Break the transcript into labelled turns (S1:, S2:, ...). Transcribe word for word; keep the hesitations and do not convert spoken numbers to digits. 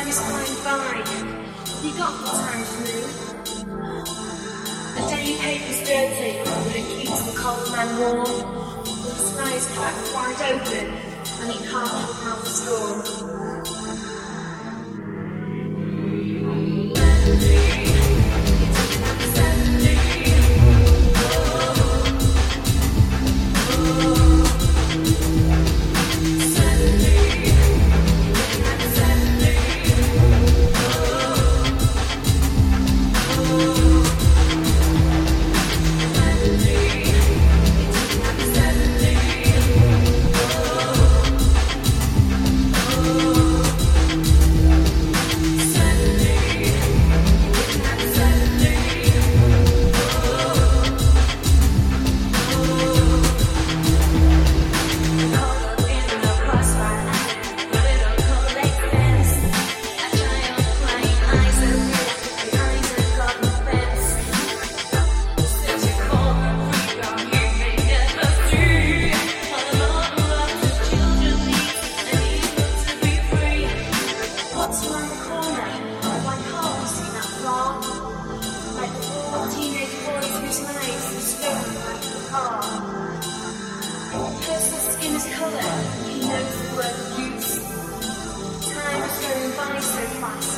S1: is flying by. You got the time to move. The daily paper's dirty, but it keeps the cold man warm. The sky is cracked wide open, and you can't look out the storm. Colour, he knows the word of use. Time is going by so fast.